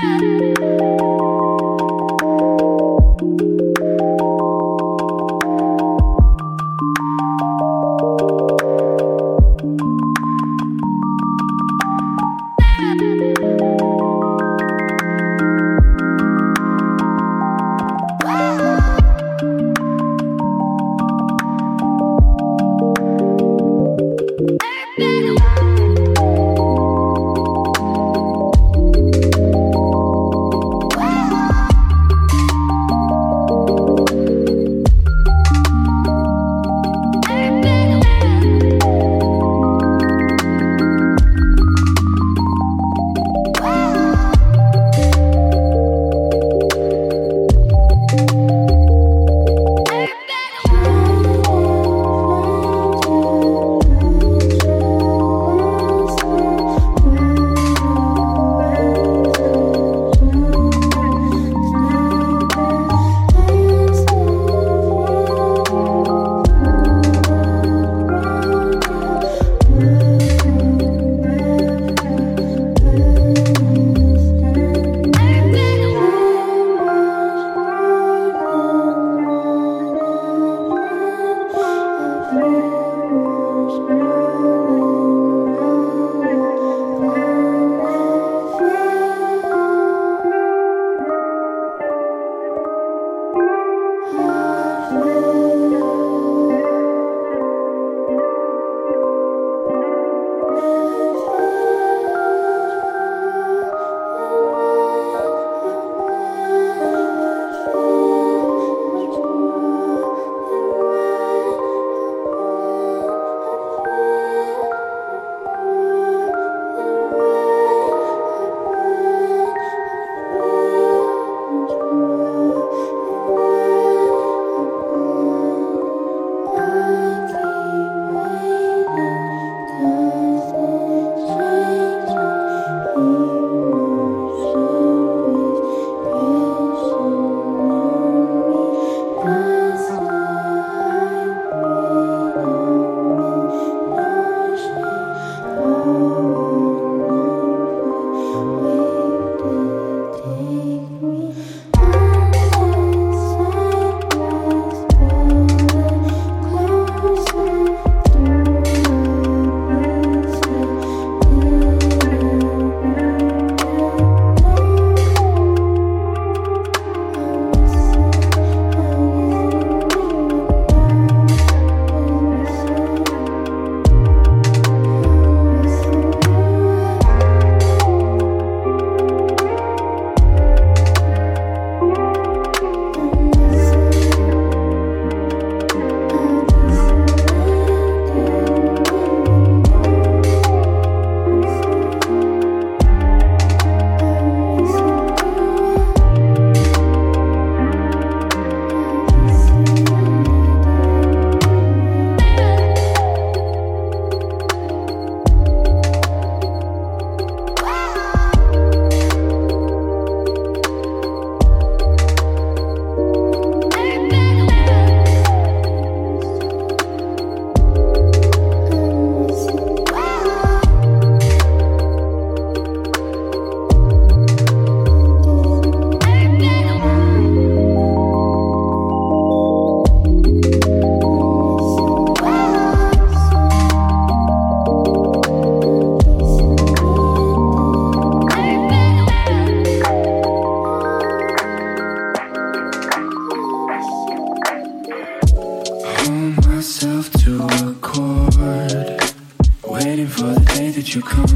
you come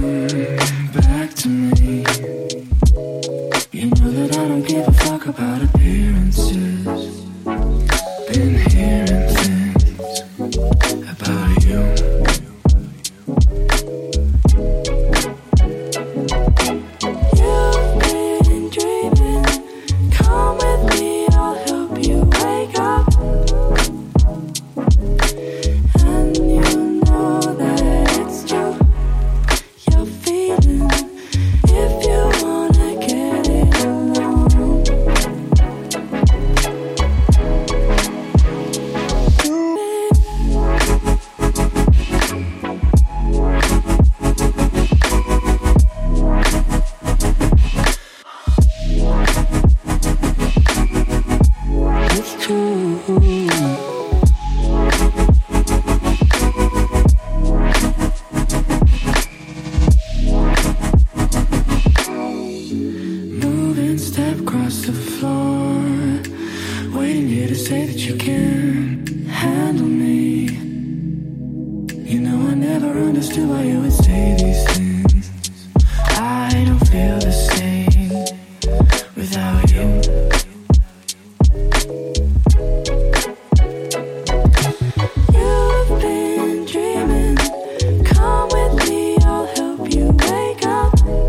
back to me? You know that I don't give a fuck about appearances. Been hearing things about you. You know I never understood why you would say these things. I don't feel the same without you. You've been dreaming. Come with me, I'll help you wake up.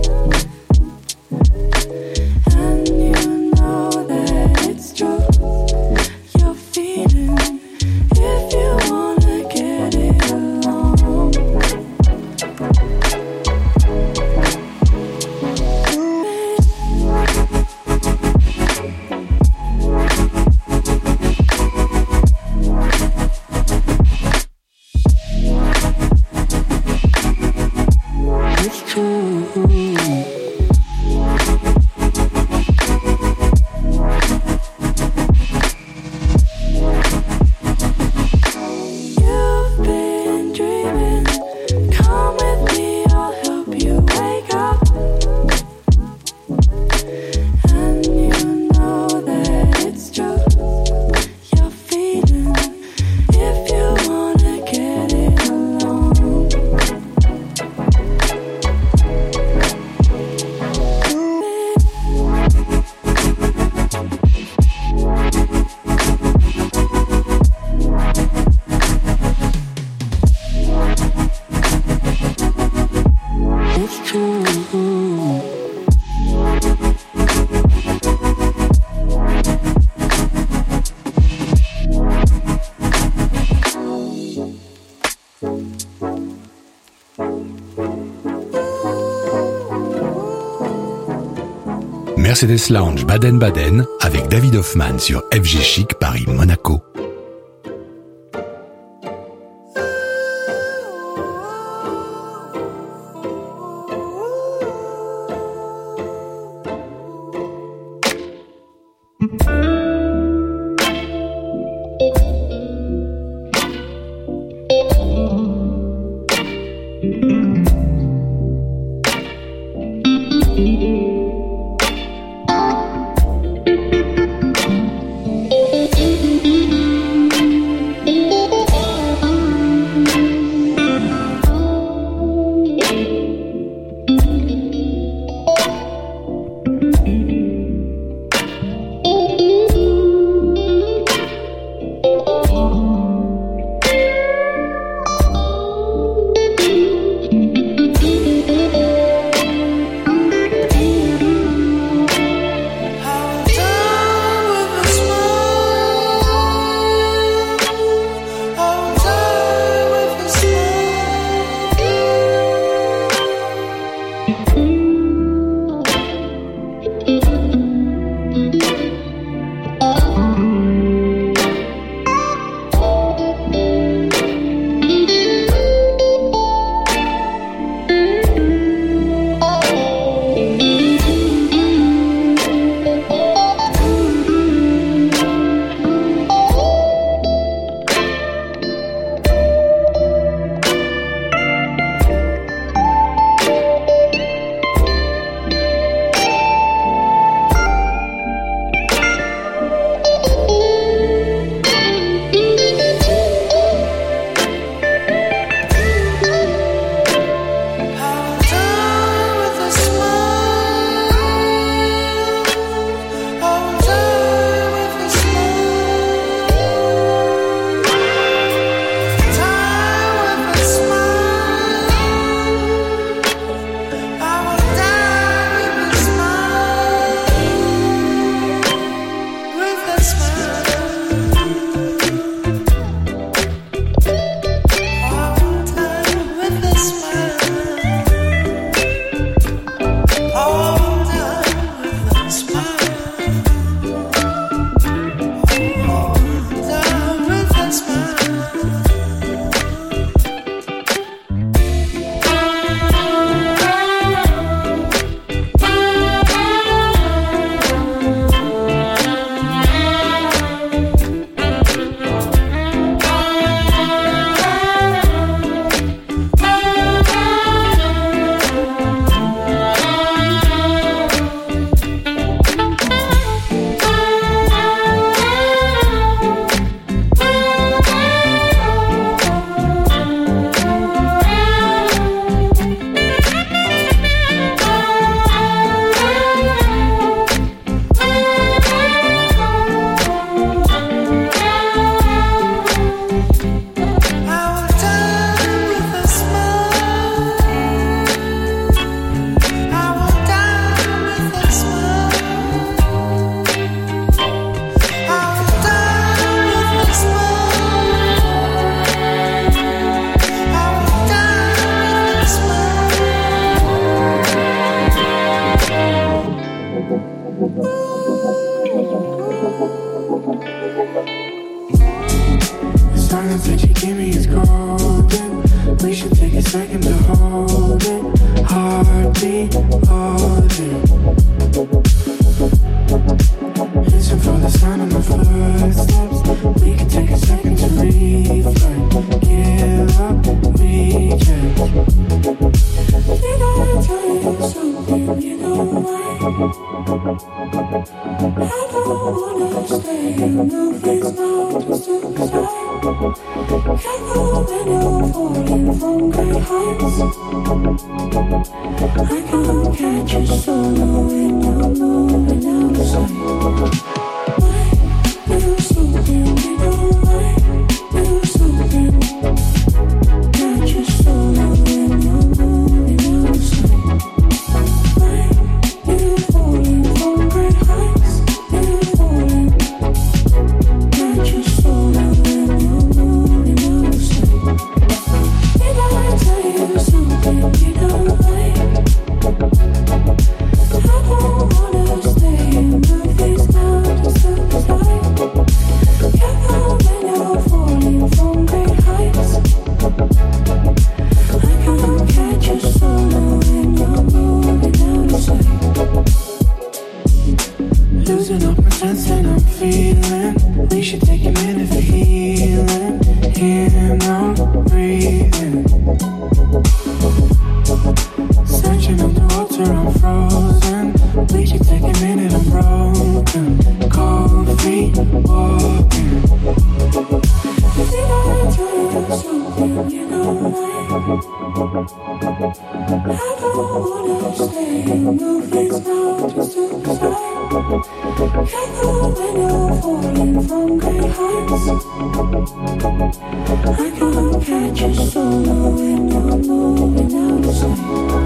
And you know that it's true. You're feeling if you wanna get it along. It's true. You've been dreaming. Come with me, I'll help you wake up. And you know that it's true. You're feeling if you wanna get it along. It's true. Mercedes Lounge Baden-Baden avec David Hoffman sur FG Chic Paris-Monaco. The silence that you give me is golden. We should take a second to hold it. Heartbeat, hold it. Listen for the sound of my footsteps. We can take a second to reflect. Give up, reject. Did I tell you something you don't like? I don't wanna stay in the face now, just to decide. Careful when you're falling from great heights. I can't catch you solo when you're moving out of sight. Why do something you don't like? Do something. Catch you solo when you're moving out of sight. Why you falling from great heights? You falling. Catch you solo when you're moving out of sight. Did I tell you something you don't like? I don't wanna stay in the face now, just to decide. Careful when you're falling from great heights. I can't catch you solo when you're moving out of sight. Losing all pretense and I'm feeling. We should take a minute for healing. Here now, breathing. Searching underwater, I'm frozen. We should take a minute, I'm broken. Cold feet, walking. Did I tell you something you don't like? I don't wanna stay in the face now, just to decide. Careful when you're falling from great heights. I can't catch you solo when you're moving out of sight.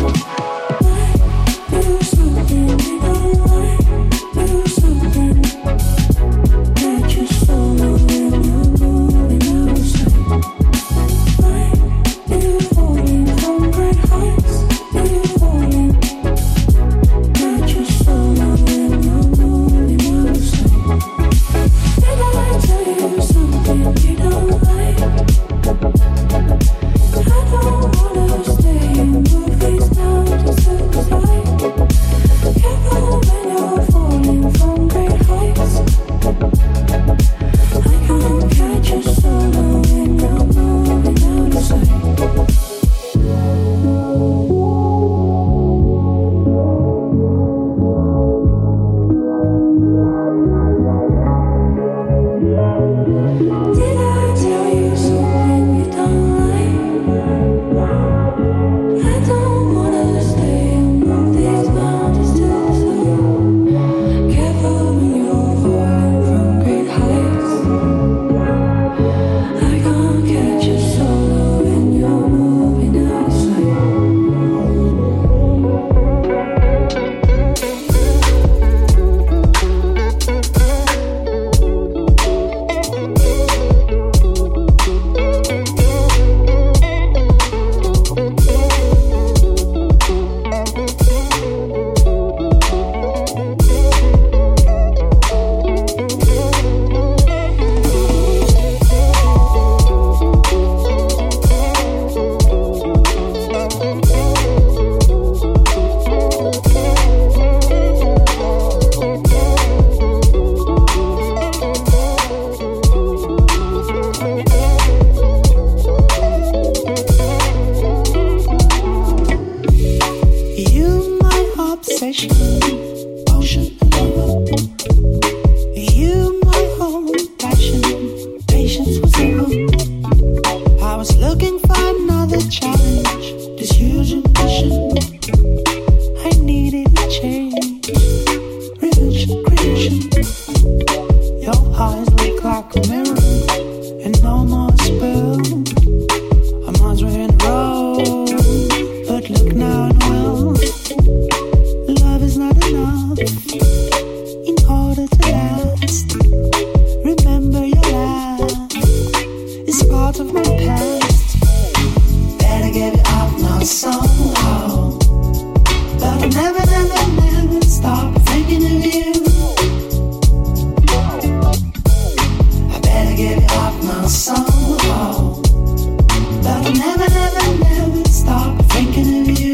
Why do something you don't like? Do something. Catch you solo when you're moving out of sight. Why you falling from great heights? You falling. Catch you solo when you're moving out of sight. Did I tell you something you don't like? I don't wanna stay in the face now, just to decide. Careful when you're falling from great heights. I can't catch you solo when you're moving out of sight. Did I tell you something you don't like? I don't wanna stay and move these mountains to the side. Careful when you're falling from great heights. I can't catch you solo when you're moving out of sight. You, my obsession, ocean lover. You, my whole passion, patience was over. I was looking for another challenge, this huge ambition. I needed a change, revenge creation. Your eyes look like a mirror, and no more spell. Our minds were in a row, but look now and well. Love is not enough in order to last. Remember your laugh is part of my past. Better give it up now somehow. But I never stop thinking of you. I better get it off my soul. But I'll never, never, never stop thinking of you.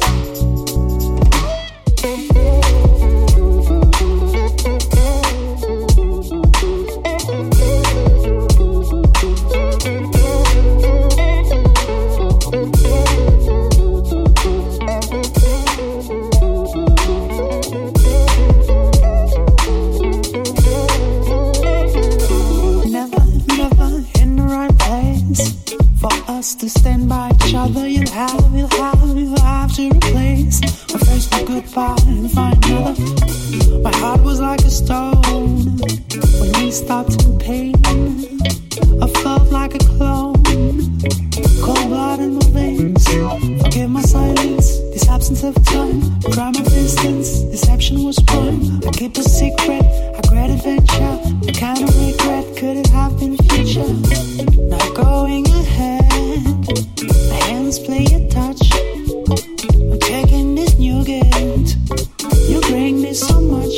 To stand by each other, you'll have to replace my first goodbye and find another. My heart was like a stone when we stopped in pain. I felt like a clone, cold blood in my veins. Forgive my silence, this absence of time. Crime of distance, deception was prime. I keep a secret, a great adventure. The kind of regret could it have been future? Now going ahead, my hands play a touch. I'm taking this new gate. You bring me so much.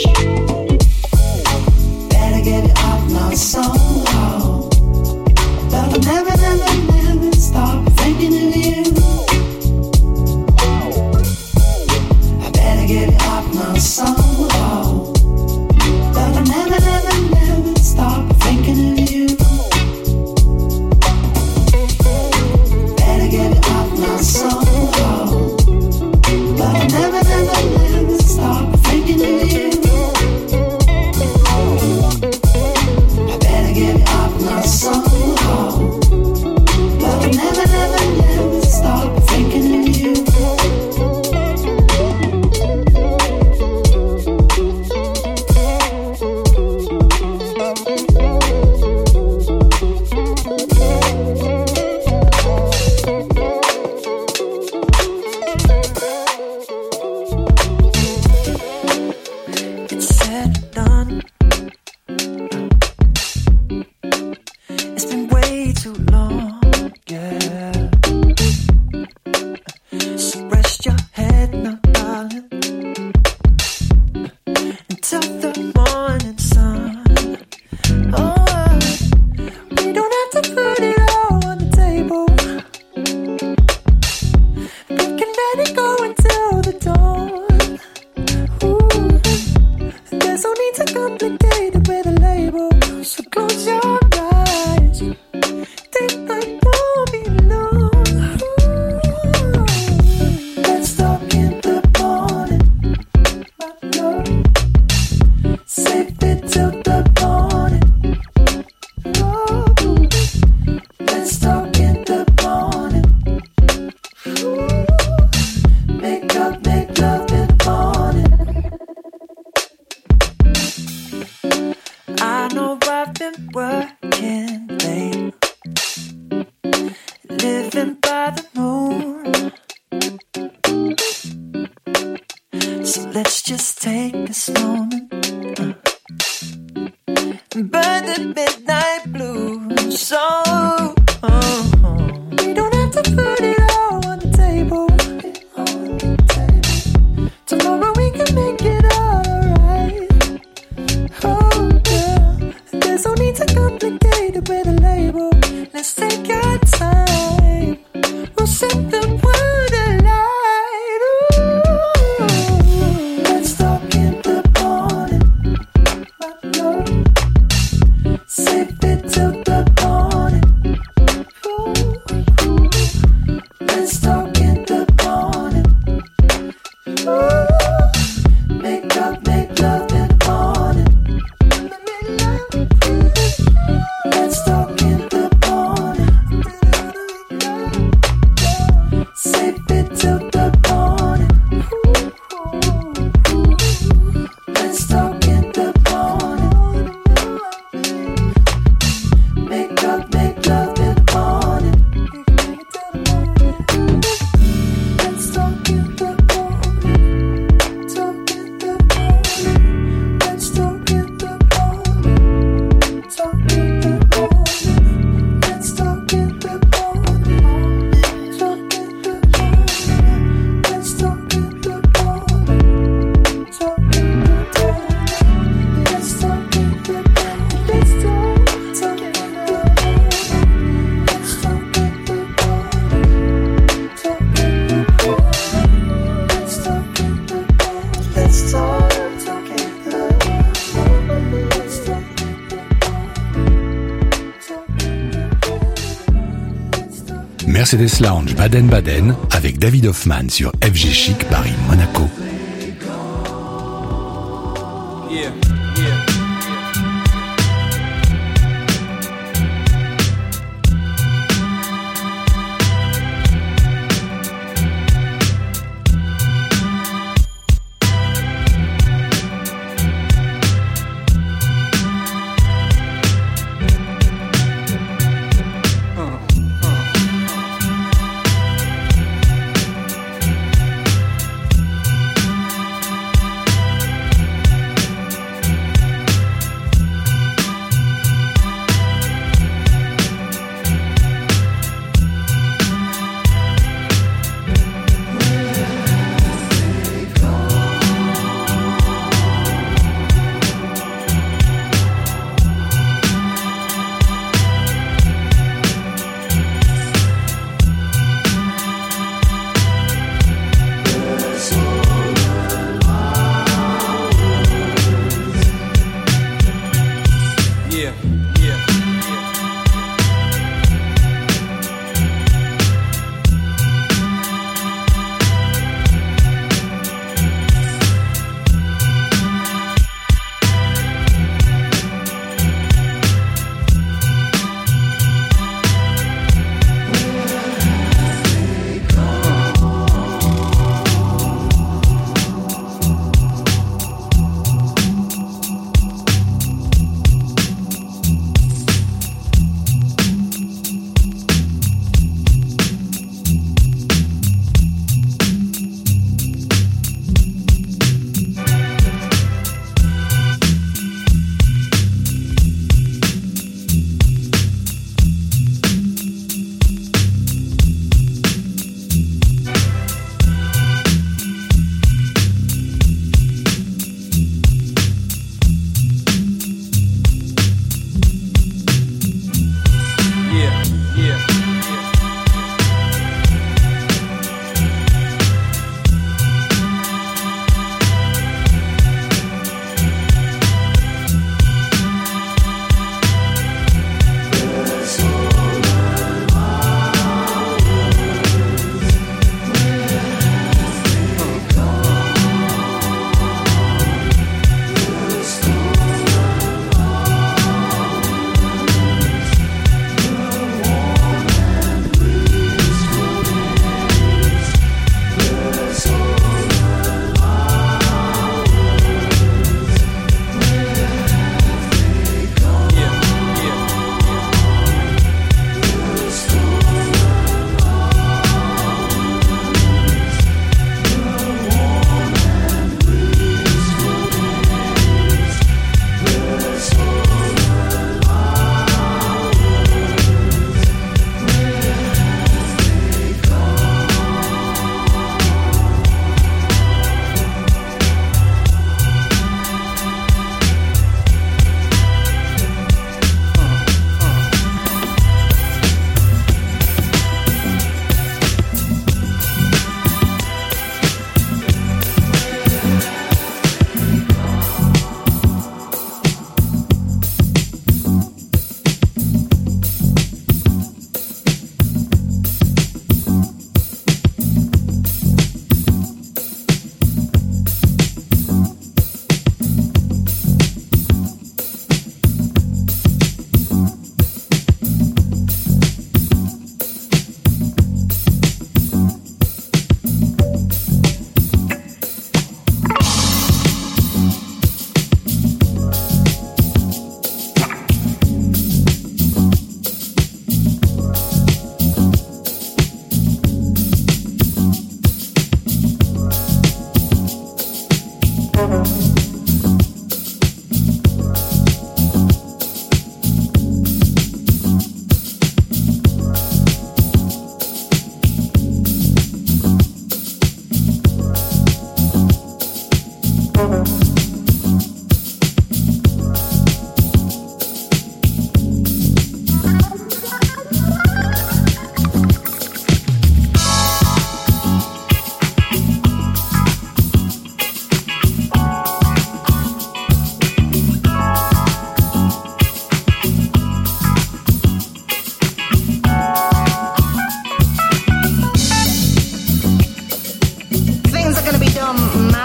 Better get it off my soul. But I'll never, never, never stop thinking of you. I better get it off my soul. But I'll never, never, never stop thinking of you. Better get it off my soul. But I'll never, never, never stop thinking of you. I better get it off my soul. But I'll never, never, never stop thinking of you. Let's talk in the Mercedes Lounge Baden-Baden avec David Hoffman sur FG Chic Paris-Monaco. Yeah.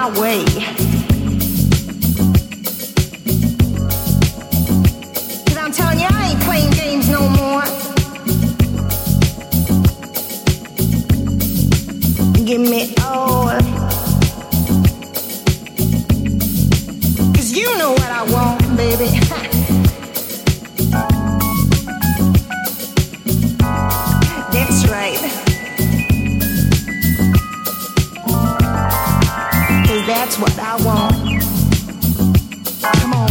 my way. Cause I'm telling you, I ain't playing games no more. Give me all. Cause you know what I want, baby. That's right. Cause that's what I want. Come on.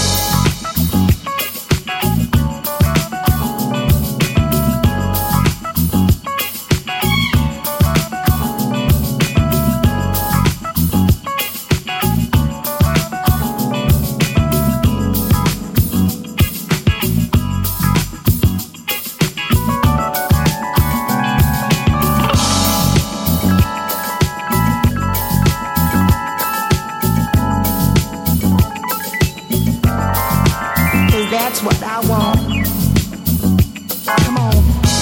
That's what I want. Come on.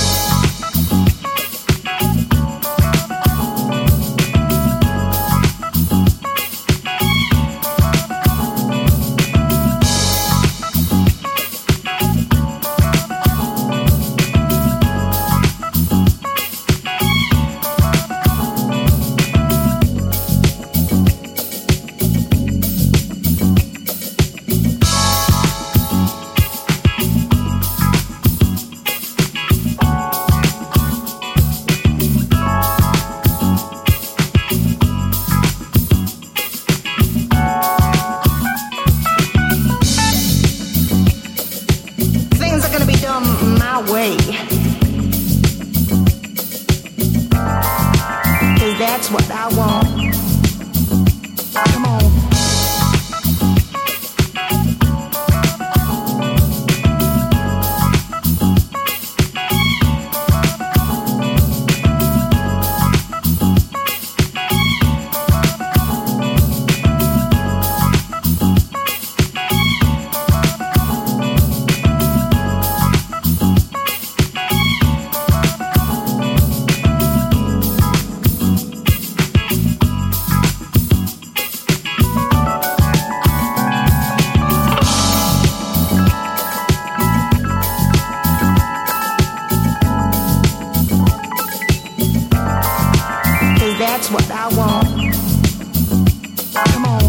Way. Cause that's what I want. Come on. That's what I want. Come on.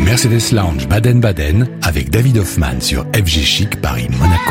Mercedes Lounge Baden-Baden avec David Hoffman sur FG Chic Paris-Monaco.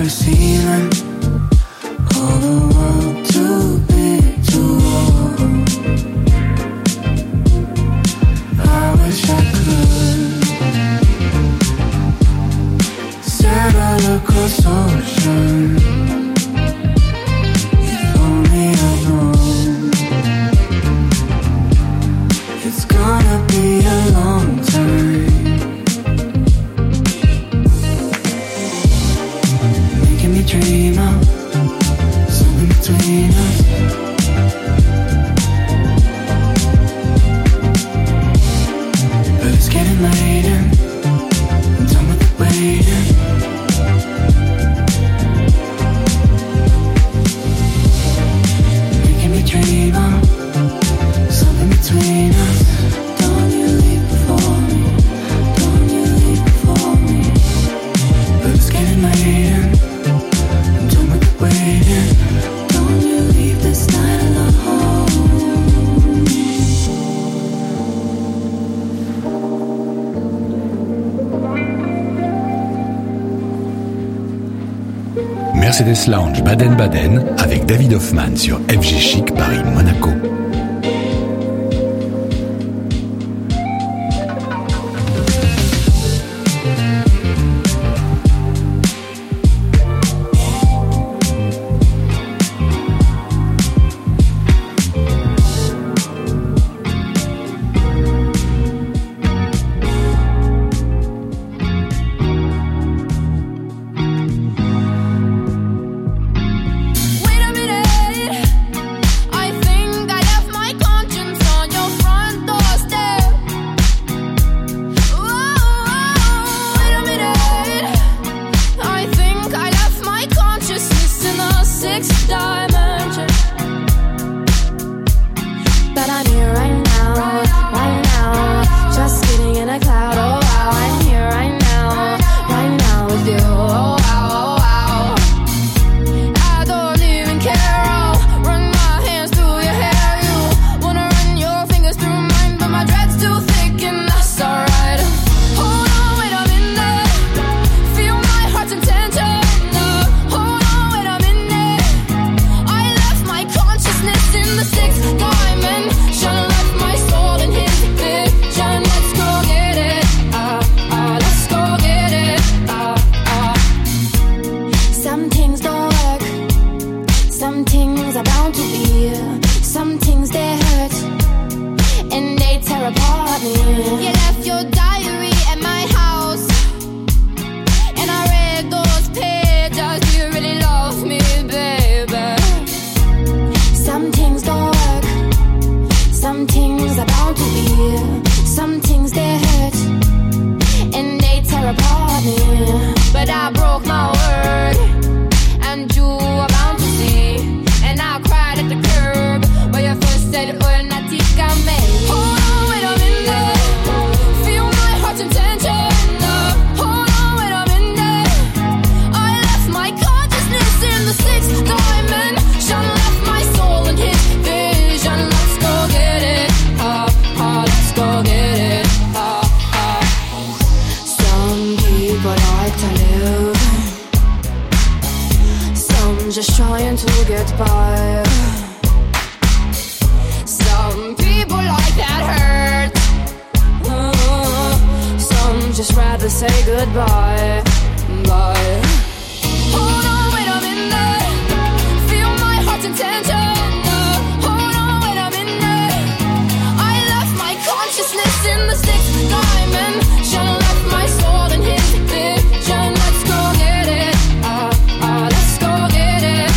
ceiling. Oh, the world too big to hold. I wish I could sail across ocean. If only I'd known it's gonna be a long time. Making me dream of something between us. But it's getting late and I'm done with the waiting. Making me dream of something between us. Don't you leave before me, don't you leave before me. But it's getting late and I'm done with the waiting. Don't you leave this night alone. Mercedes Lounge Baden-Baden avec David Hoffman sur FG Chic Paris-Monaco. Wait a minute, I think I left my conscience on your front doorstep. Whoa, wait a minute, I think I left my consciousness in the sixth dimension. But I'm here right now, just sitting in a cloud. Oh wow, I'm here right now with you. Oh wow, oh wow. I don't even care. I'll run my hands through your hair. You wanna run your fingers through mine, but my dread's too thick and that's alright. Hold on, wait a minute. Feel my heart's intention. Hold on, wait a minute. I left my consciousness in the sixth dimension. Left my soul in his vision. Let's go get it. Let's go get it. Some things don't work. Some things are bound to be. Some things they hurt and they tear apart me. You left your diary at my house and I read those pages. Do you really love me, baby? Some things don't work. Some things are bound to be. Some things they hurt and they tear apart me. But I broke my word and you are bound to see. And I cried at the curb where you first said lunaticame. Hold on, wait a minute. Feel my heart's intention. Hold on, wait a minute. I left my consciousness in the sixth dimension. Left my soul in his vision. Let's go get it. Let's go get it. Some people like to live. Some just trying to get by. Some people like that hurt. Some just rather say goodbye. Bye. Hold on, wait a minute. Feel my heart's intention. Hold on, wait a minute. I left my consciousness in the sixth dimension. Left my soul in his vision. Let's go get it. Let's go get it.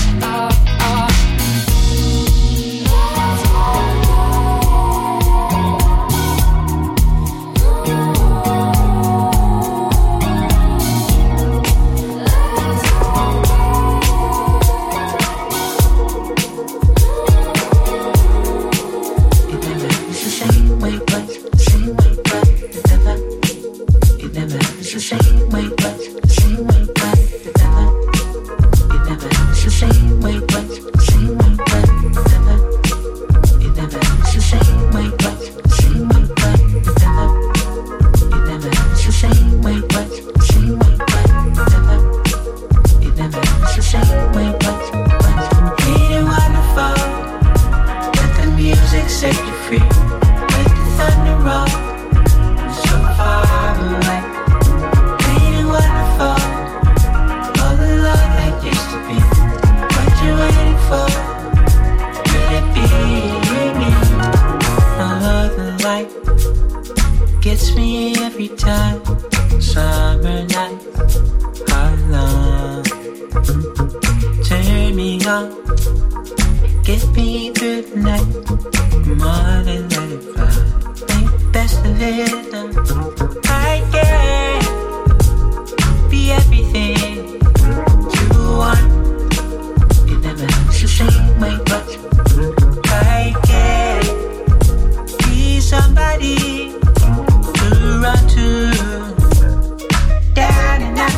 on. Get me through the night. More than let it fly. Make the best of it. I can be everything you want. You never have to say my but I can be somebody to run to. Down and out.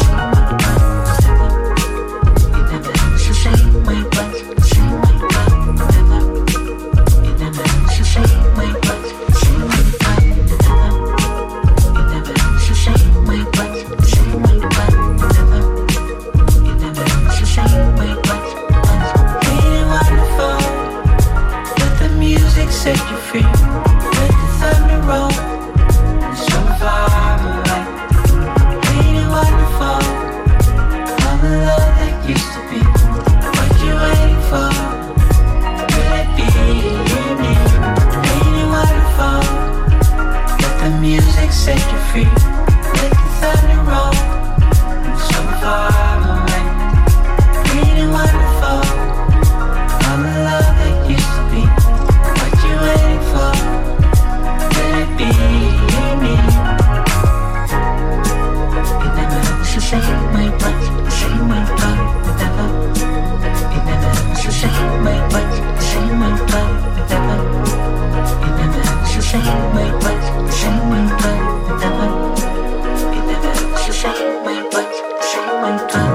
You never have to say my but say my but never. You never have to say my but say my but never. You never have to say my but say my but never. You never have to say my but. Ain't it wonderful? Let the music set you free. Let the thunder roll. So far away. Ain't it wonderful? All the love that used to be. What you waiting for? Will it be me? Ain't it wonderful? Let the music set you free. Let the thunder roll. So far away. Ain't it wonderful? All the love that used to be. What you waiting for? Will it be me? You never have to say my but, say my but, never. You never have to say my but, say my but, never. You never have to say my but, say my but, never. You never have to say my but, say my but, never.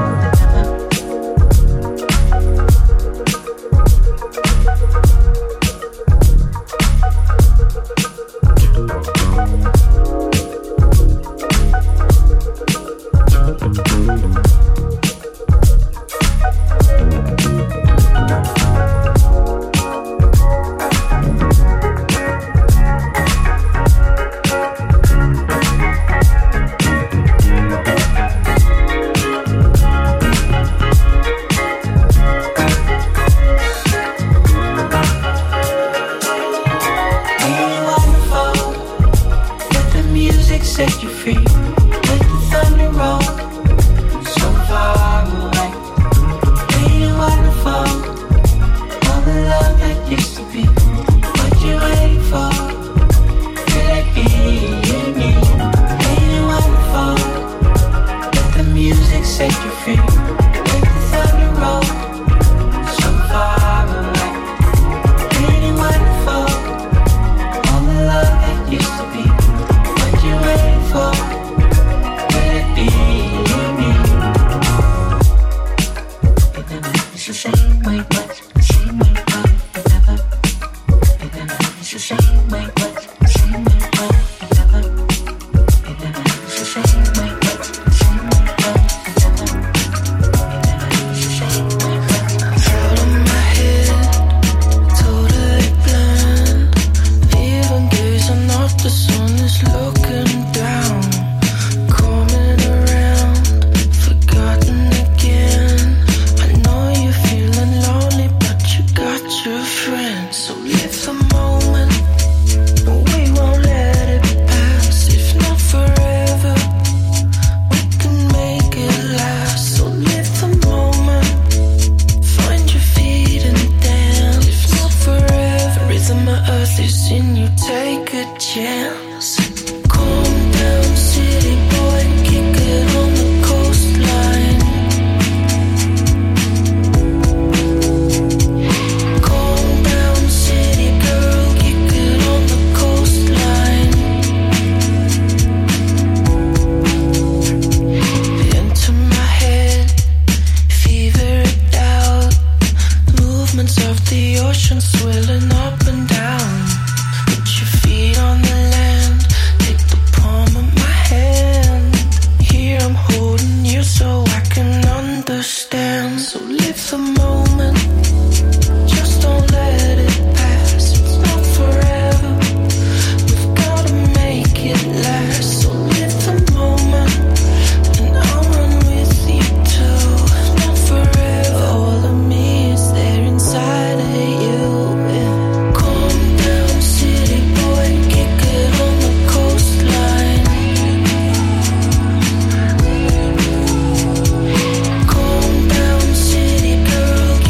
Set you free, let the thunder roll. So far away, ain't it wonderful? All the love that used to be. What you waiting for? Will it be me? Ain't it wonderful? Let the music set you free. Let the thunder roll. So far away, ain't it wonderful? All the love that used to be. You waiting for? Will it be me? It never is the same way, but same way, but never. It never is the same way, but same way, but never. It never is the same way, but same way, but never. It never is the same way, but. Out of my head, totally blind. Even gazing off the sun is looking down, coming around, forgotten again. I know you're feeling lonely, but you got your friends. So live the moment, and we won't let it pass. If not forever, we can make it last. So live the moment, find your feet and dance. If not forever, rhythm of earth is in you, take a chance. Calm down, city boy, kick it on the coastline. Calm down, city girl, kick it on the coastline. Into my head, fever it out. Movements of the ocean swirling up and down. Put your feet on the land, take the palm of my hand. Here I'm holding you so I can understand. So live the moment, just don't let it pass. It's not forever, we've gotta make it last. So live the moment, and I'll run with you too. It's not forever, all of me is there inside of you. Calm down, city boy, kick it on the coastline. Calm down, city girl,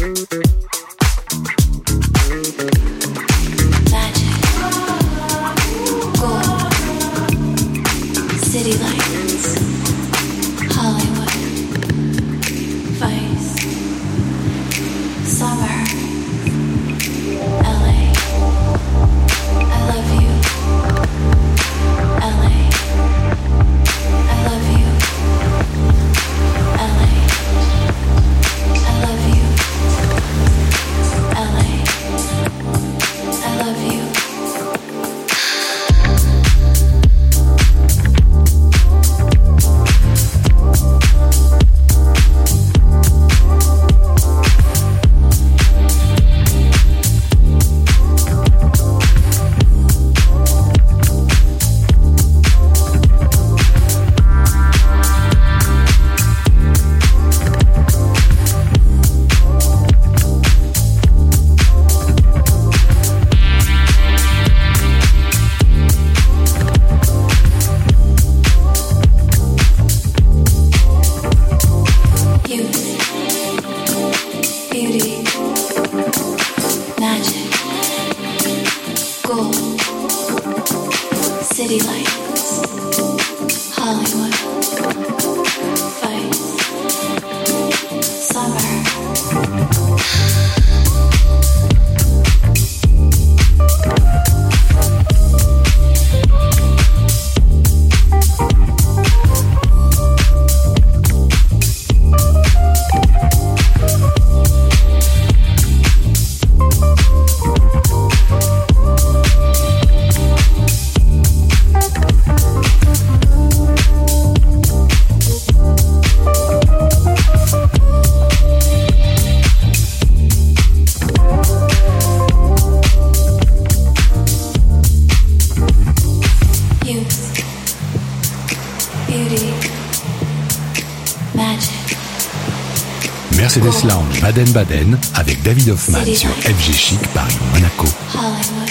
Mercedes Lounge Baden-Baden avec David Hoffman sur FG Chic Paris Monaco. Hollywood,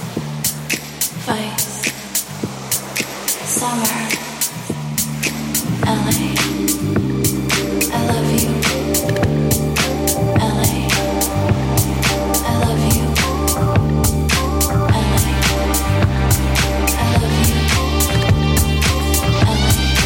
Vice, Summer, LA. I love you. LA. I love you. LA. I love you. LA. I love you.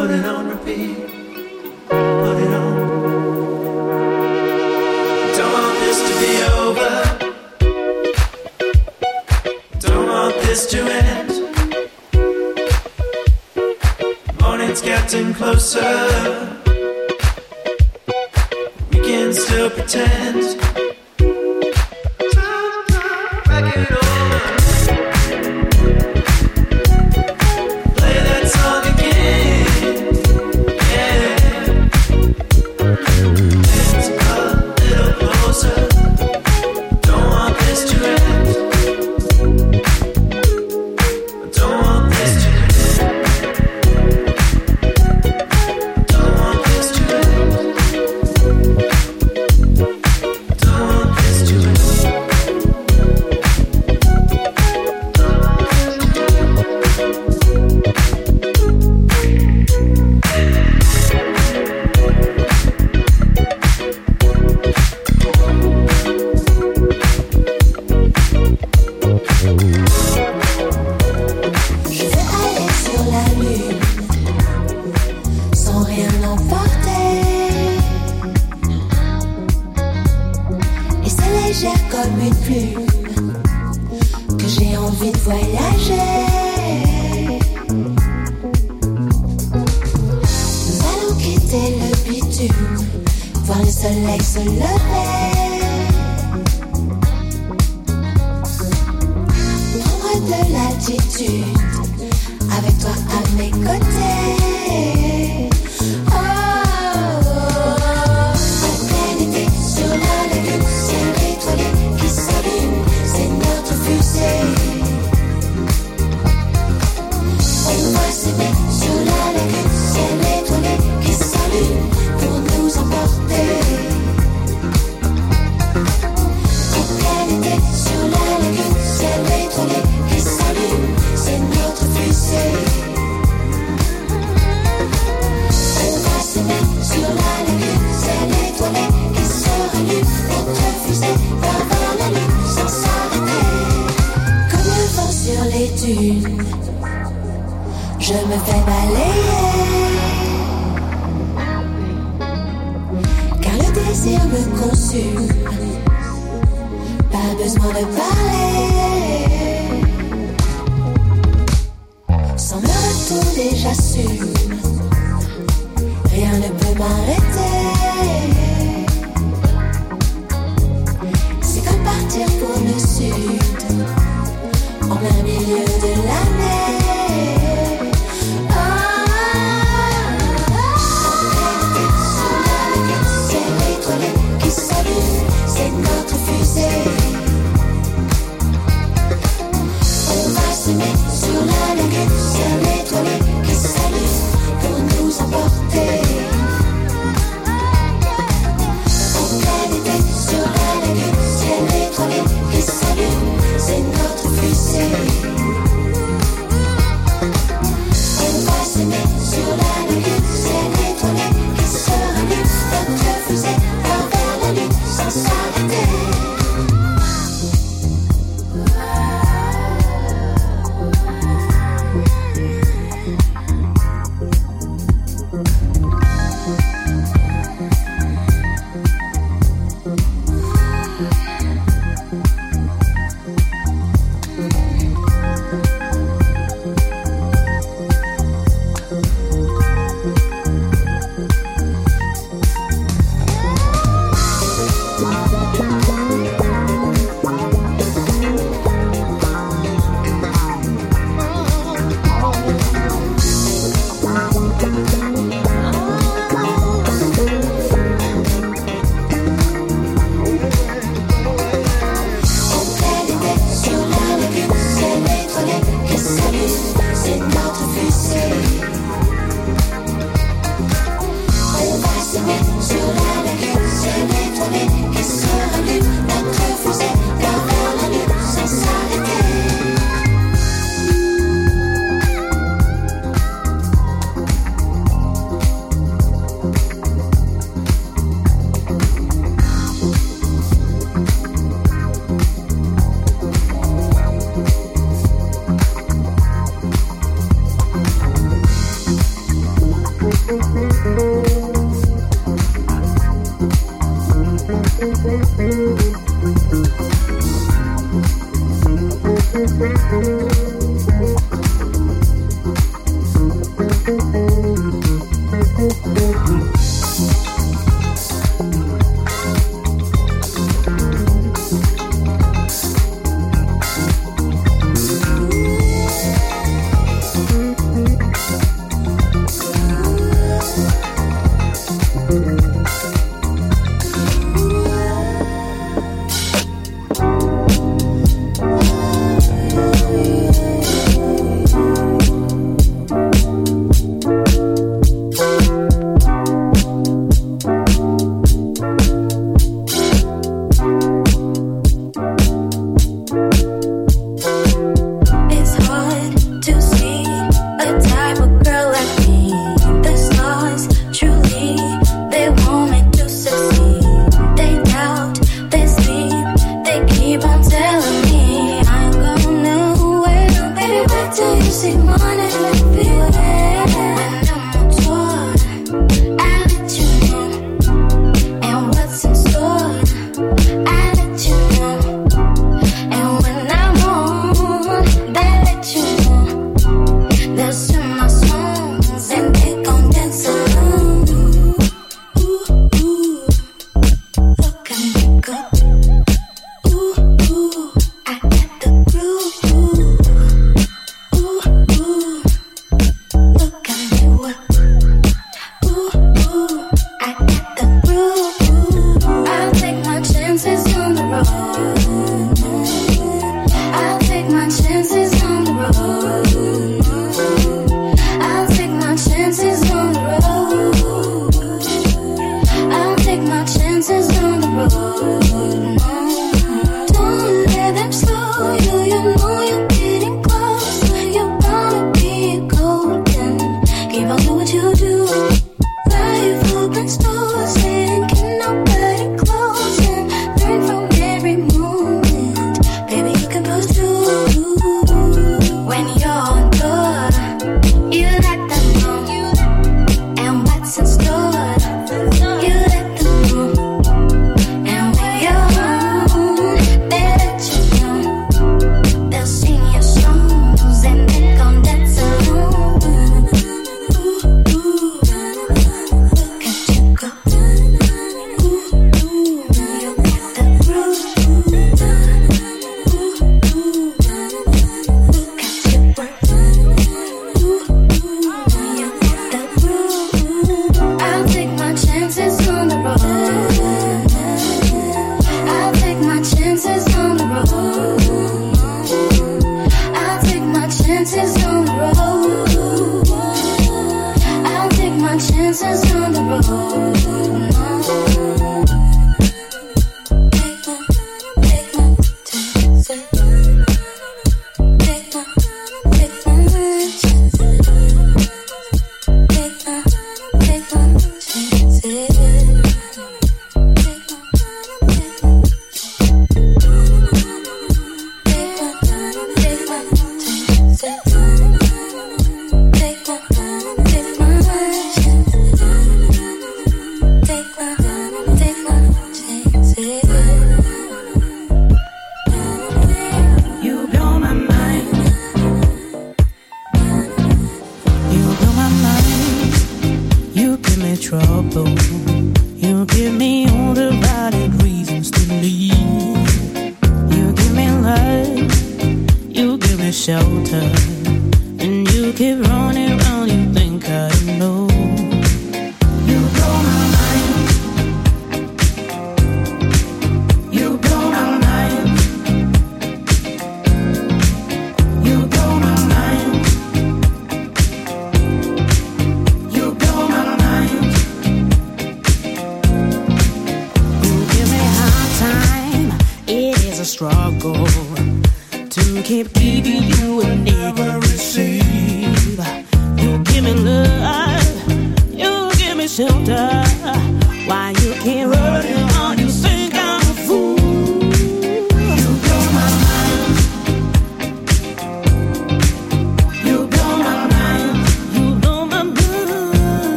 Put it on repeat. Put it on. Don't want this to be over. Don't want this to end. Morning's getting closer. We can still pretend. Back it over. Play that song again. Yeah. It's a little closer. Don't want this to end. Don't want this to end. Don't want this to end. Don't want this to end. Je vais aller sur la lune sans rien emporter. Et c'est légère comme une plume que j'ai envie de voyager. Nous allons quitter le bitume, voir le soleil se lever. Prendre de l'altitude avec toi à mes côtés. Oh, la planète sur la lune, ciel étoilé qui s'allume, c'est notre fusée. On va s'aimer sur la lune, ciel étoilé qui s'allume pour nous emporter. La planète sur la lune, ciel étoilé qui s'allume, c'est notre fusée. On va s'aimer sur la lune, ciel étoilé qui se rallume, notre fusée va vers la lune sans s'arrêter. Comme le vent sur les dunes, je me fais balayer. Car le désir me consume, pas besoin de parler. Sans le retour déjà j'assume, rien ne peut m'arrêter. C'est comme partir pour le sud, en plein milieu de l'année. Ciel étoilé qui s'allume, c'est notre fusée. On va s'aimer sur la lune, ciel étoilé qui s'allume,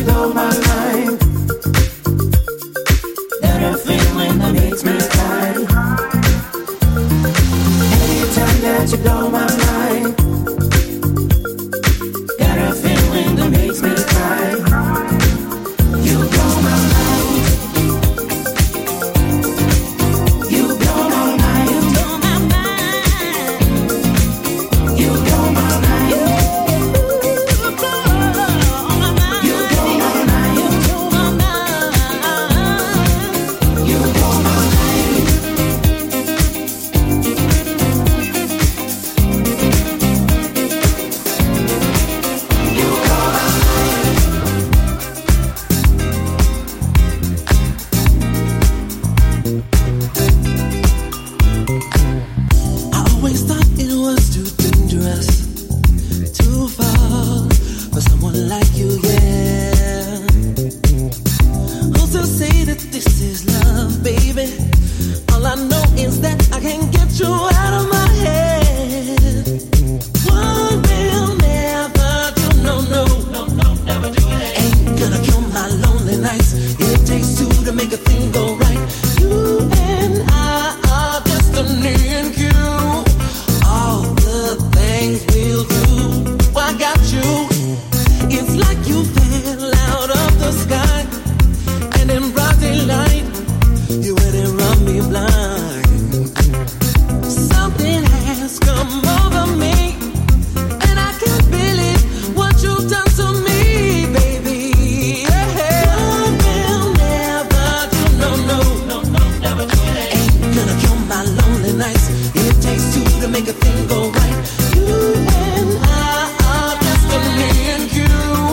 blow my mind. Got a feeling that makes me cry. Anytime that you blow my mind. Got a feeling that makes me cry. You blow my mind. You blow my mind. You blow my mind. You blow my mind. You blow my mind. You blow my mind. I always thought it was too dangerous to fall for someone like you, yeah. Who's to say that this is love, baby? All I know is that I can't get you out of my head. One will never do, no, never do it. Ain't gonna kill my lonely nights. It takes two to make a thing go right. You and I are destiny and you. All the things we'll do. I got you. It's like you fell out of the sky, and in broad daylight, you went and run me blind. Something has come over me, and I can't believe what you've done to me, baby. Yeah. One will never do, no, never do it. Ain't gonna kill my lonely nights. It takes two to make a thing go right. You and I are destiny and you.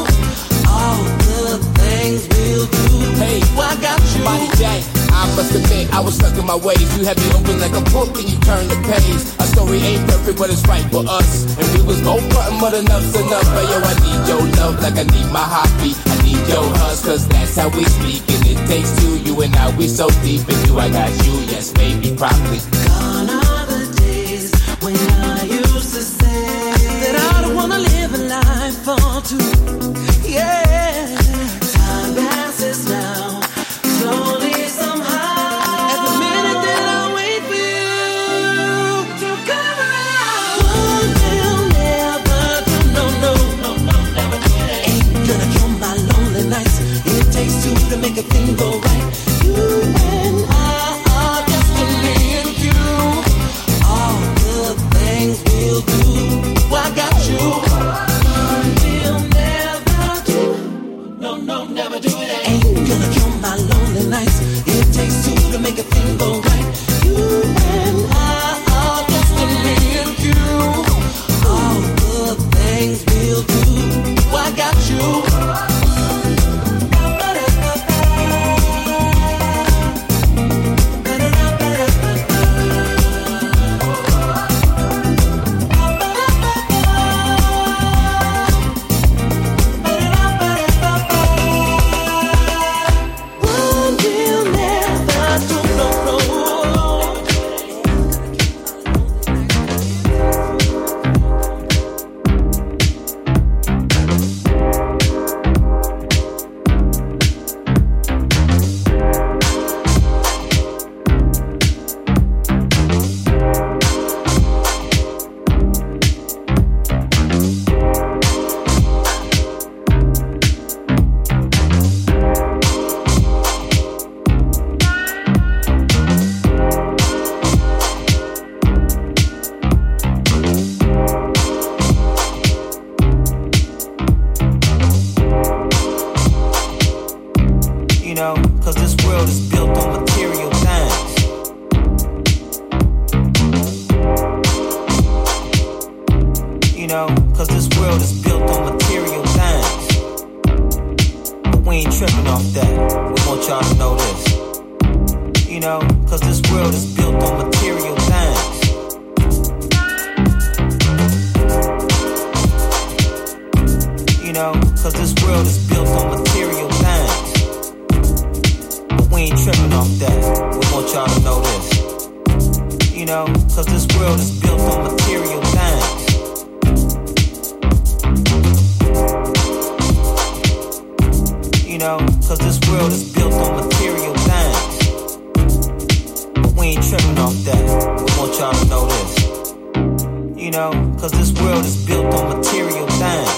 All the things we'll do. Hey, I got you. Body J, I must admit I was stuck in my ways. You had me open like a book and you turned the page. Our story ain't perfect, but it's right for us. And we was both frontin', but enough's enough. But yo, I need your love like I need my heartbeat. I need your hugs, cause that's how we speak. And it takes two, you and I, we so deep. And you, I got you, yes, baby, probably. Gone are the days when I used to say that I don't wanna live a life for two. Yeah, time passes now, slowly somehow. Every minute that I wait for you to come around. One will never do, no, never do it. Ain't gonna kill my lonely nights. It takes two to make a thing go right. You and I are destiny and you. All the things we'll do. I got you. One will never do. No, never do it. Ain't gonna kill my lonely nights. It takes two to make a thing go right. You and I are destiny and you. All the things we'll do. I got you. One will never do, no. You know, cause this world is built on material things. You know, cause this world is built on material things. But we ain't tripping off that. We want y'all to know this. You know, cause this world is built on material things. You know, cause this world is built on material things. But we ain't tripping off that. We want y'all to know this. You know, cause this world is built on material things. know, cause this world is built on material things.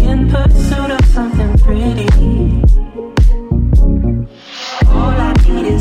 All I need is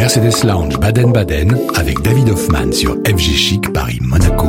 Mercedes Lounge Baden-Baden avec David Hoffman sur FG Chic Paris-Monaco.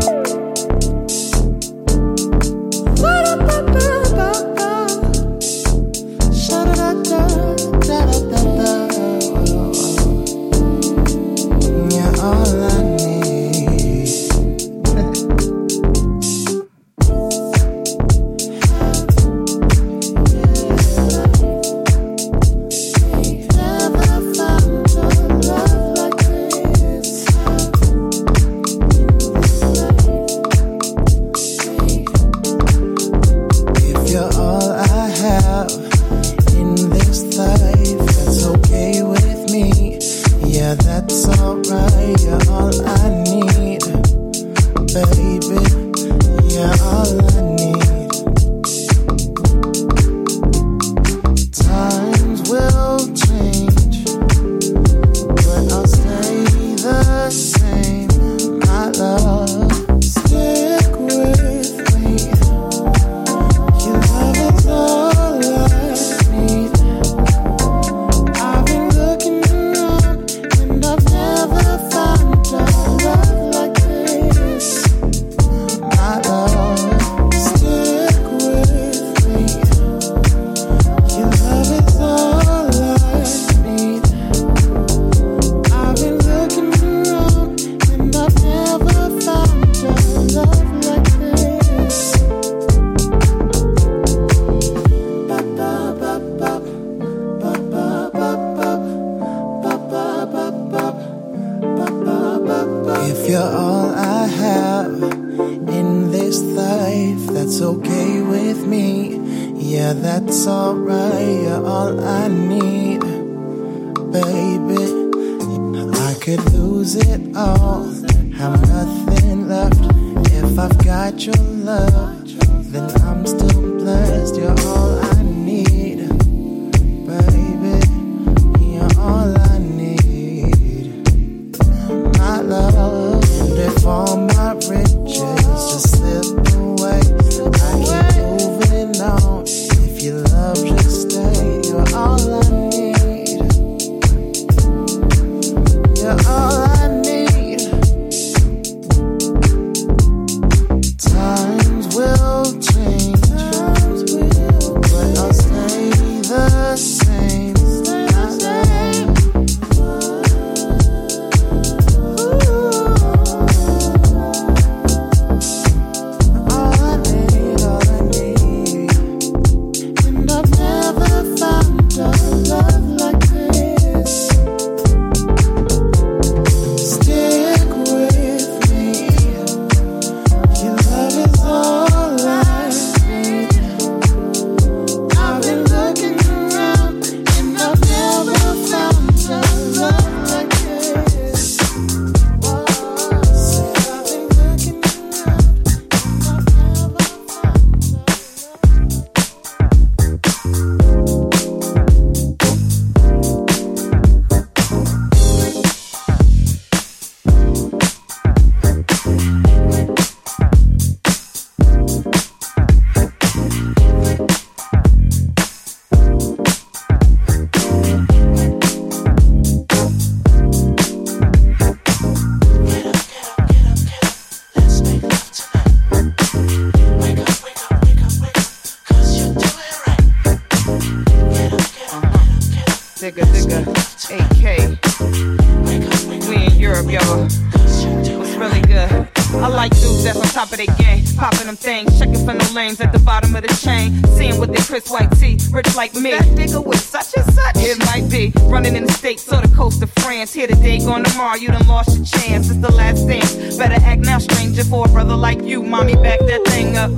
At the bottom of the chain, seeing with their crisp white tee, rich like me. That nigga was such and such. It might be running in the States or the coast of France. Here today, gone tomorrow. You done lost your chance. It's the last dance. Better act now, stranger, for a brother like you. Mommy, back that thing up.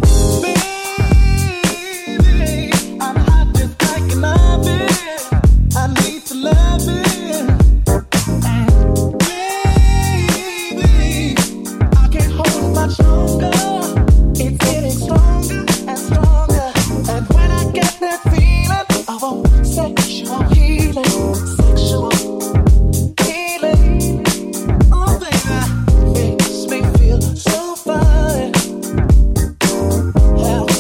Baby, I'm hot just like an oven. I need to love it. Baby, I can't hold it much longer. It's getting stronger and stronger. And when I get that feeling, I want sexual healing. Sexual healing. Oh, baby, makes me feel so fine. How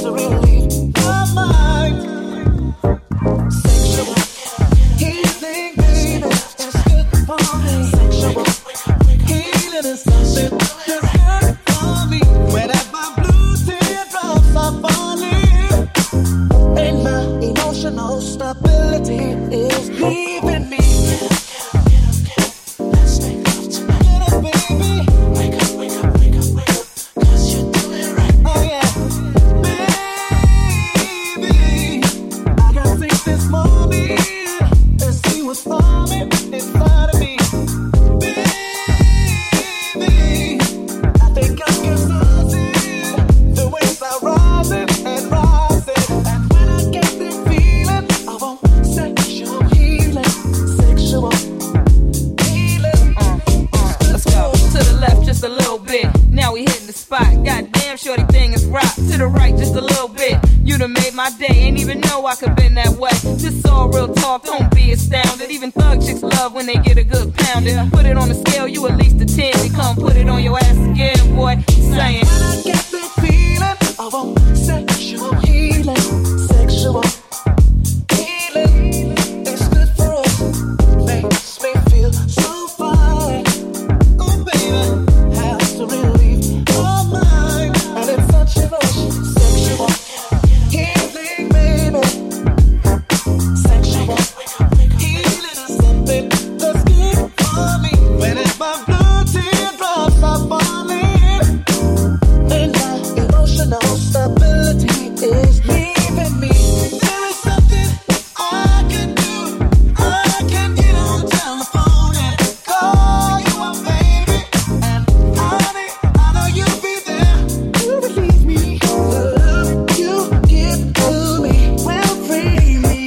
little bit. Now we hitting the spot. Goddamn, shorty thing is rock. To the right, just a little bit. You done made my day. Ain't even know I could been that way. This all real talk, don't be astounded. Even thug chicks love when they get a good pounding. Put it on the scale, you at least a 10. We come put it on your ass again, boy. Saying, when I get that feeling of a sexual healing, sexual healing, it's good for us. Makes me feel so fine. Oh baby, has to relieve my mind, and it's such a rush. Sexual healing, baby. Sexual healing is something that's good for me. When it's my blood teardrops are falling, and my emotional stability is leaving me. There is something I can do. I can get on the telephone and call you up, baby. And honey, I know you'll be there to relieve me. The love you give to me will free me.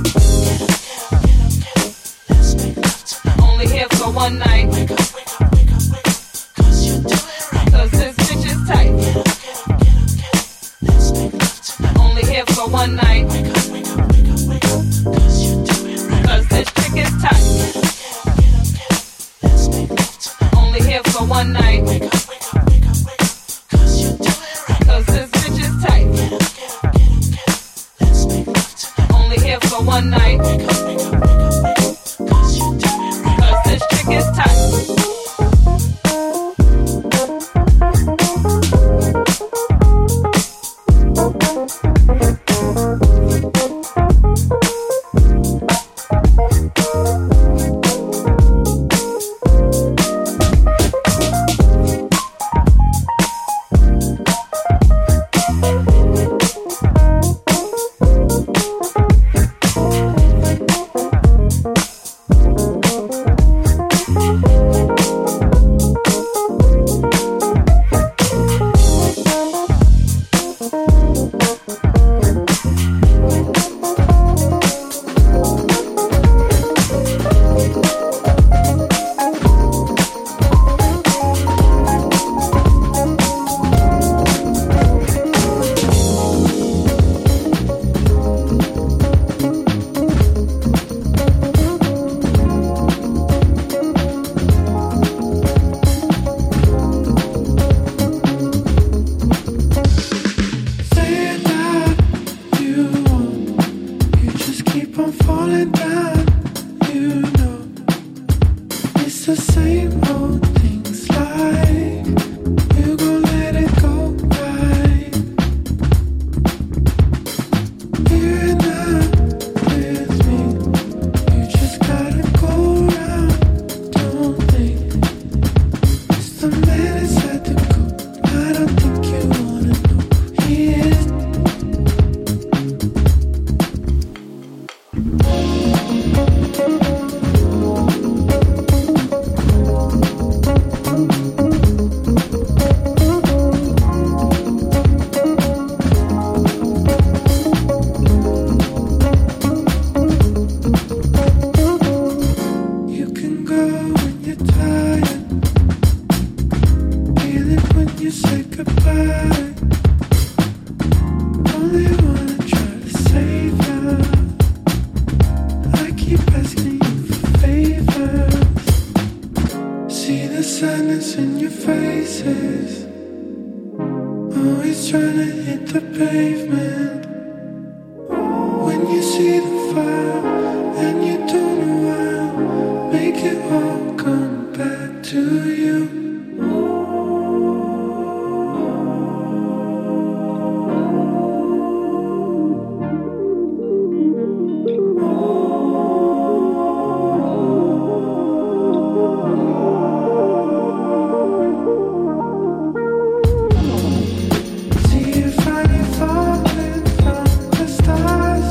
Let's make love tonight. only here for one night. Wake up, wake up, wake up, wake up. 'Cause you do it right. 'Cause this bitch is tight. Get up, get up, get up, get up. Let's make love tonight. Only here for one night. Wake up, wake up, wake up, wake up. 'Cause you do it right. 'Cause this chick is tight. Get up, get up, get up, get up. Let's make love tonight. Only here for one night. Wake up, wake up, wake up, wake up. 'Cause you do it right. 'Cause this bitch is tight. Get up, get up, get up, get up. Let's make love tonight. Only here for one night. Wake up, wake up, wake up, wake up. 'Cause you do it right. 'Cause this chick is tight. Say that you want, you just keep on falling down. You know it's the same old things like you gon' let it go right. You're not with me, you just gotta go around. Don't think it's the man inside the coop. I don't think you wanna know he is. You can go when you're tired, feel it when you say goodbye. Only wanna try to save you. I keep asking you for favors. See the sadness in your faces, always trying to hit the pavement. When you see the fire and you don't know why, make it all come back to you. See you finally falling from the stars.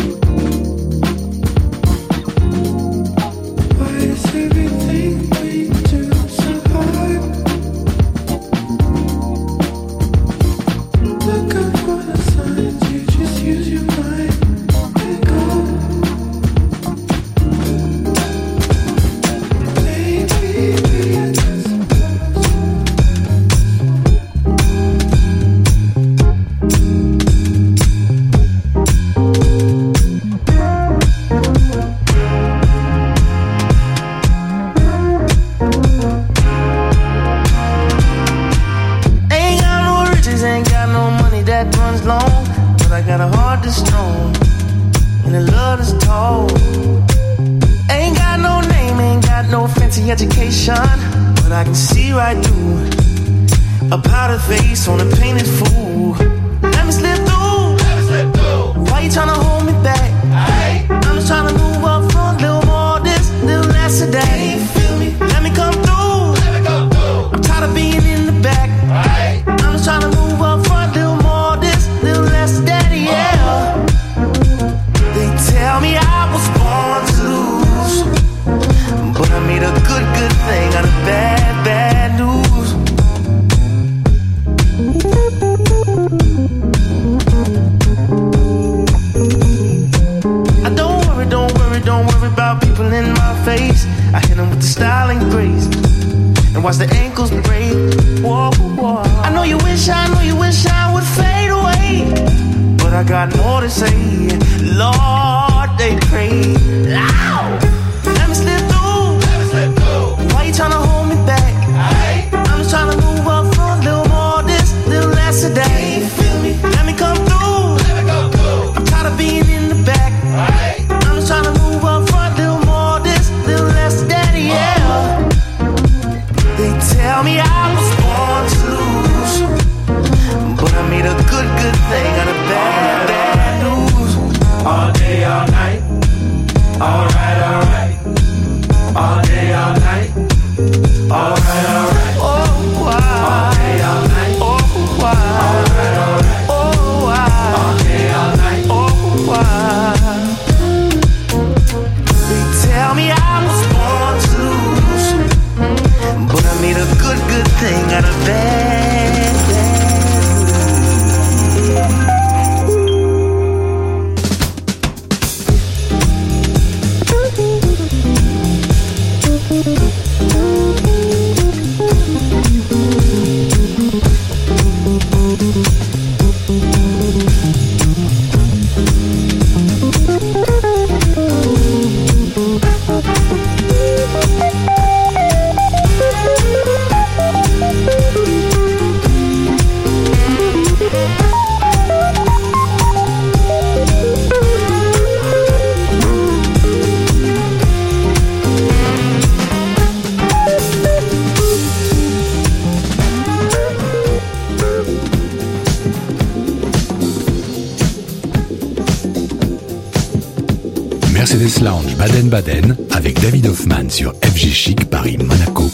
Why does everything we heart is strong and the love is tall. Ain't got no name, ain't got no fancy education, but I can see right through a powdered face on a painted fool. Let me slip through. Why you tryna hold me back? I'm just tryna move up front, little more this, little less of that. Feel me? Let me come through. I'm tired of being in the back. I'm just tryna move up front, little more this, little less of that, yeah. They tell me I was born to lose, but I made a good thing out of bad news. Don't worry about people in my face. I hit them with the style and grace, and watch the ankles break. Whoa, whoa. I know you wish I would fade away, but I got more to say. Lord, they pray. Ow! Let me slip through. Why you tryna hold me back? I'm just tryna move up front, little more this, little less of that. Feel me? Let me come through. I'm tired of being in the back. I'm just tryna move up front, little more this, little less of that, yeah. They tell me I was born to lose, but I made a good thing out of bad news. All day, all night. Alright. All day, all night. Alright. Oh, wow. All day, all night. Oh, wow. Alright. Oh, wow. All day, all night. Oh, wow. They tell me I was born to lose, but I made a good thing out of bad news. Mercedes Lounge Baden-Baden avec David Hoffman sur FG Chic Paris Monaco.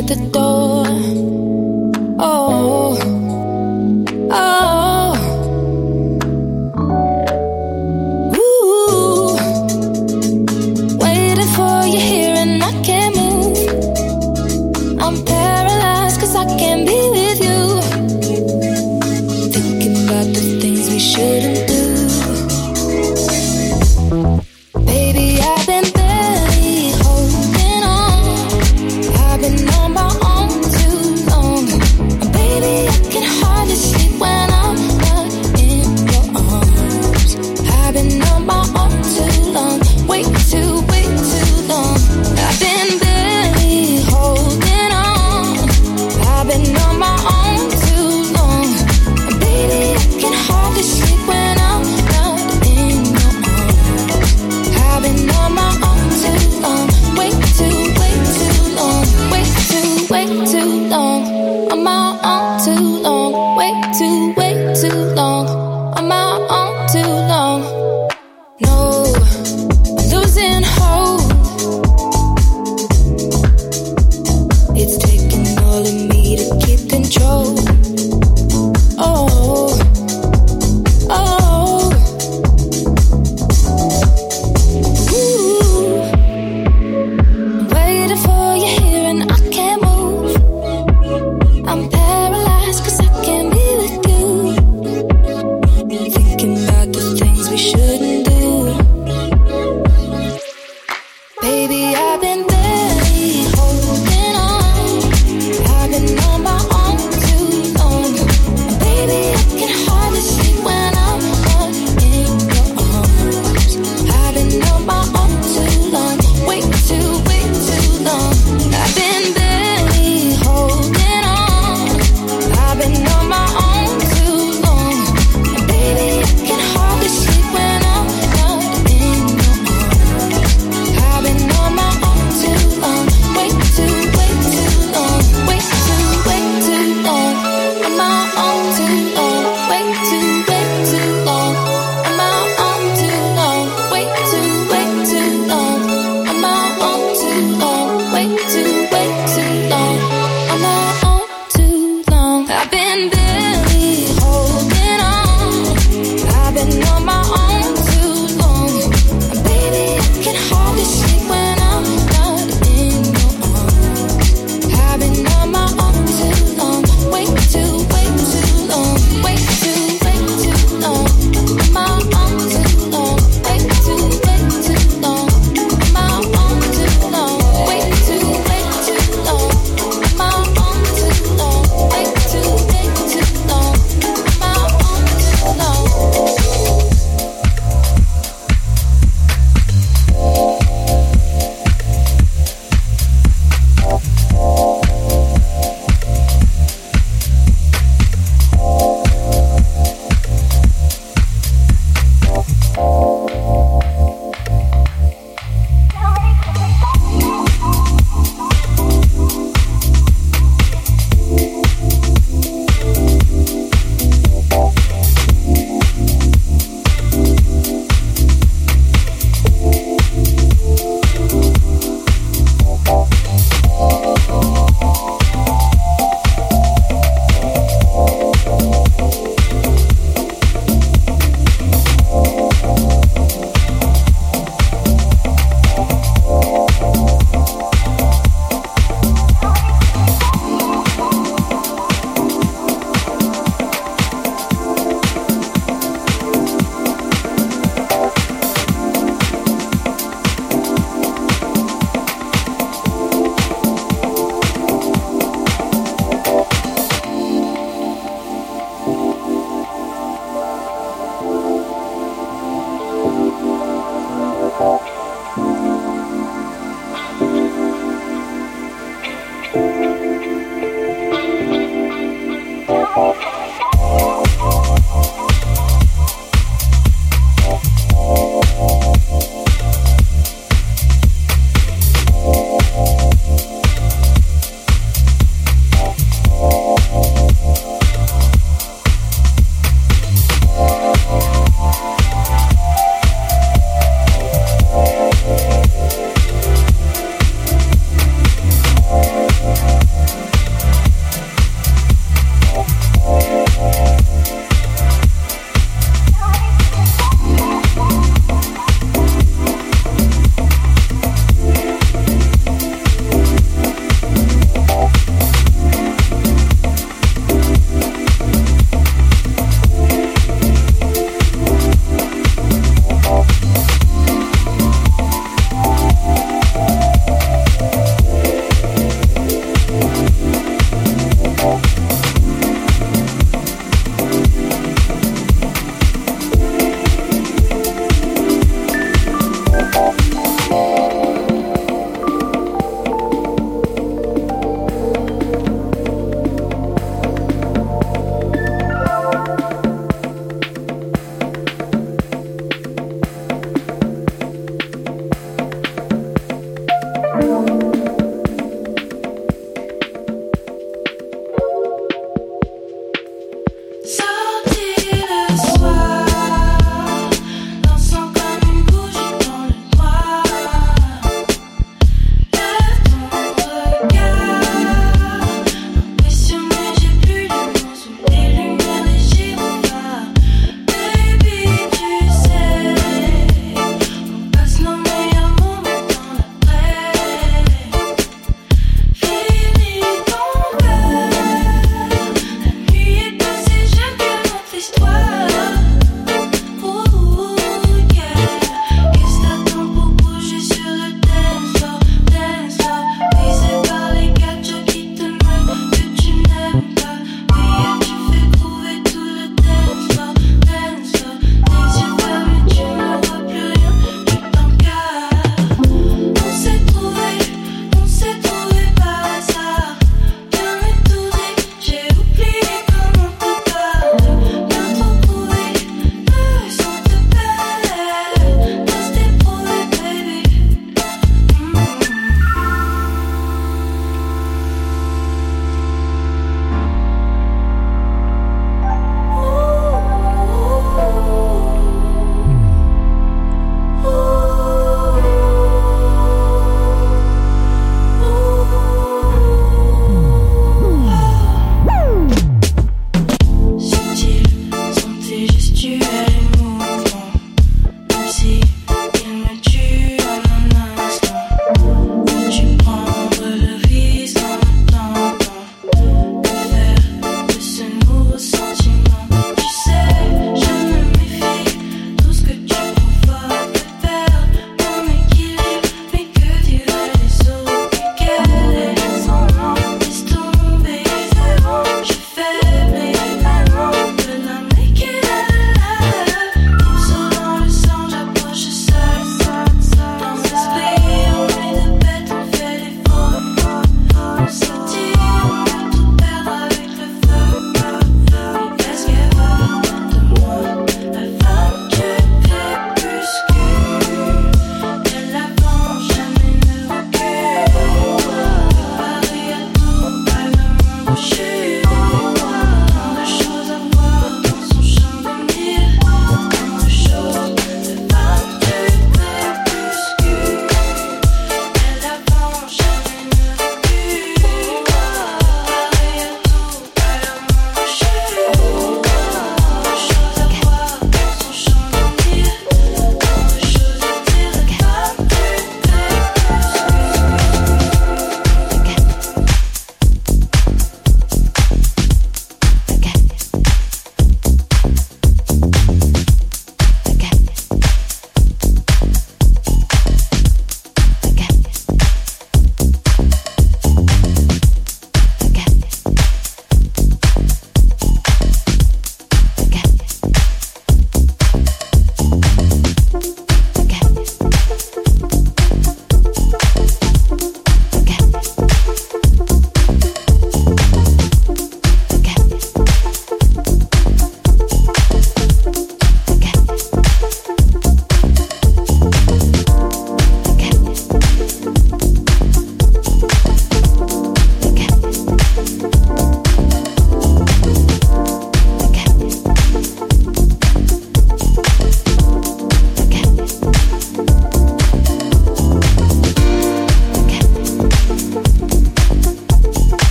at the door. Oh, oh. Ooh. Waiting for you here and I can't move. I'm paralyzed 'cause I can't be with you. Thinking about the things we shouldn't do. Baby, I've been barely holding on. I've been on my own too long. Baby, I can hardly sleep when I'm not in your arms. I've been on my own too long. Way too long. I've been barely holding on. I've been on my own too long. Baby, I can hardly sleep when I'm not in your arms. I've been on my own too long. Way too long. Way too long. On my own too long. Way too long. On my own too long. No, I'm losing hope. It's taking all of me to keep control. Oh, oh. Ooh. Waiting for you here and I can't move. I'm paralyzed 'cause I can't be with you. Thinking about the things we shouldn't do. Baby, I've been barely holding on. I've been on my own too long. Baby, I can hardly sleep when I'm not in your arms. I've been on my own